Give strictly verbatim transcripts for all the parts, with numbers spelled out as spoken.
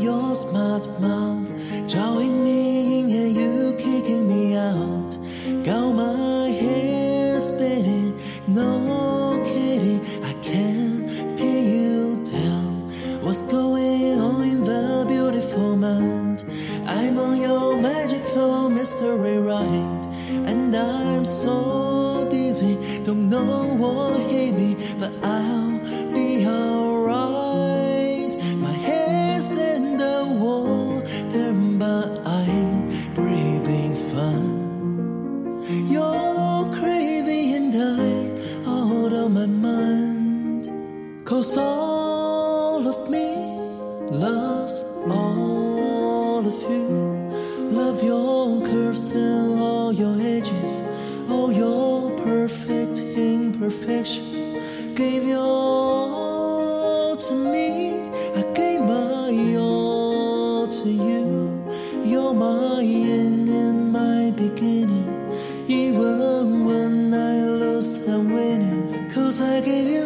your smart mouth, drawing me in and you kicking me out. Got my head spinning, no kidding, I can't pin you down. What's going on in the beautiful mind? I'm on your magical mystery ride, and I'm so dizzy, don't know what hit me, but I'll be alright. My head's in the water, but I'm breathing fine. You're crazy and I'm out of my mind, 'cause all of me loves all of you. Love your curves and all your edges, all your perfect imperfections. Gave your all to me, I gave my all to you. You're my end and my beginning, even when I lose I'm winning. 'Cause I gave you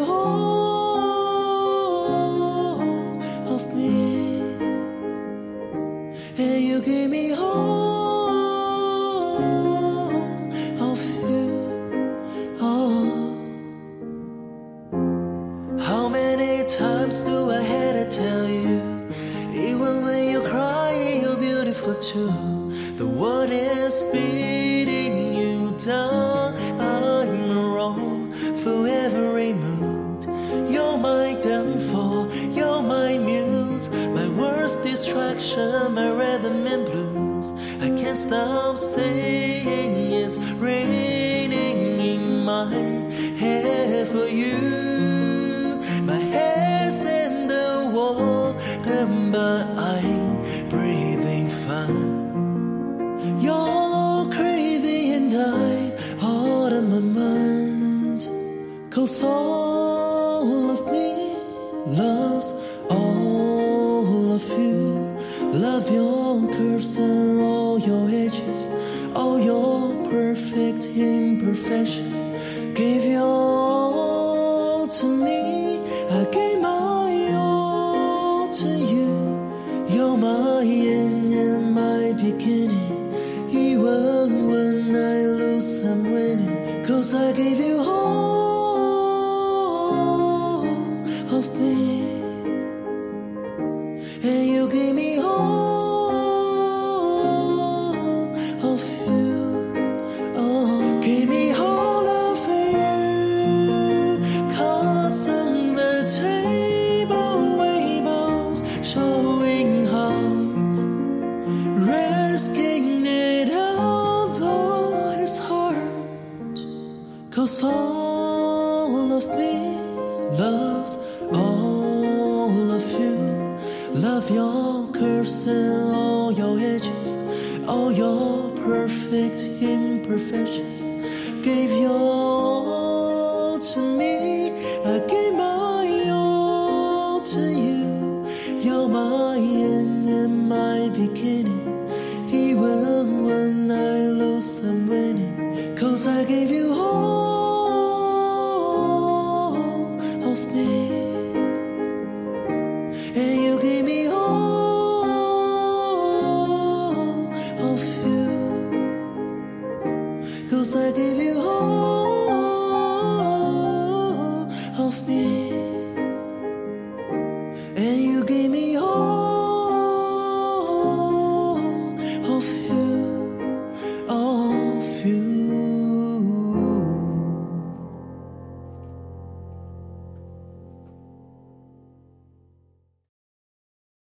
all of me, and you gave me all of you. Oh, how many times do I have to tell you, even when you cry you're beautiful too. The world is beating you down, I'm wrong for every mood. You're my downfall, you're my muse, my worst distraction, my rhythm and blues. I can't stop saying it's raining in my head for you. My head's in the water, but I'm breathing fine. You're crazy and I'm out of my mind, 'cause all of me loves all of you. Love your curves and all your edges, all your perfect imperfections. Gave your all to me, I gave my all to you. You're my end and my beginning, even when I lose I'm winning. 'Cause I gave you all of me, and you gave me all of you. Oh, give me all of you, 'cause on the table tables showing heart, risking it all though it's hard. 'Cause all of me loves all of you. Love your curves and all your edges, all your perfect imperfections. Gave your all to me, I gave my all to you. You're my end and my beginning, even when I lose I'm winning. 'Cause I gave you all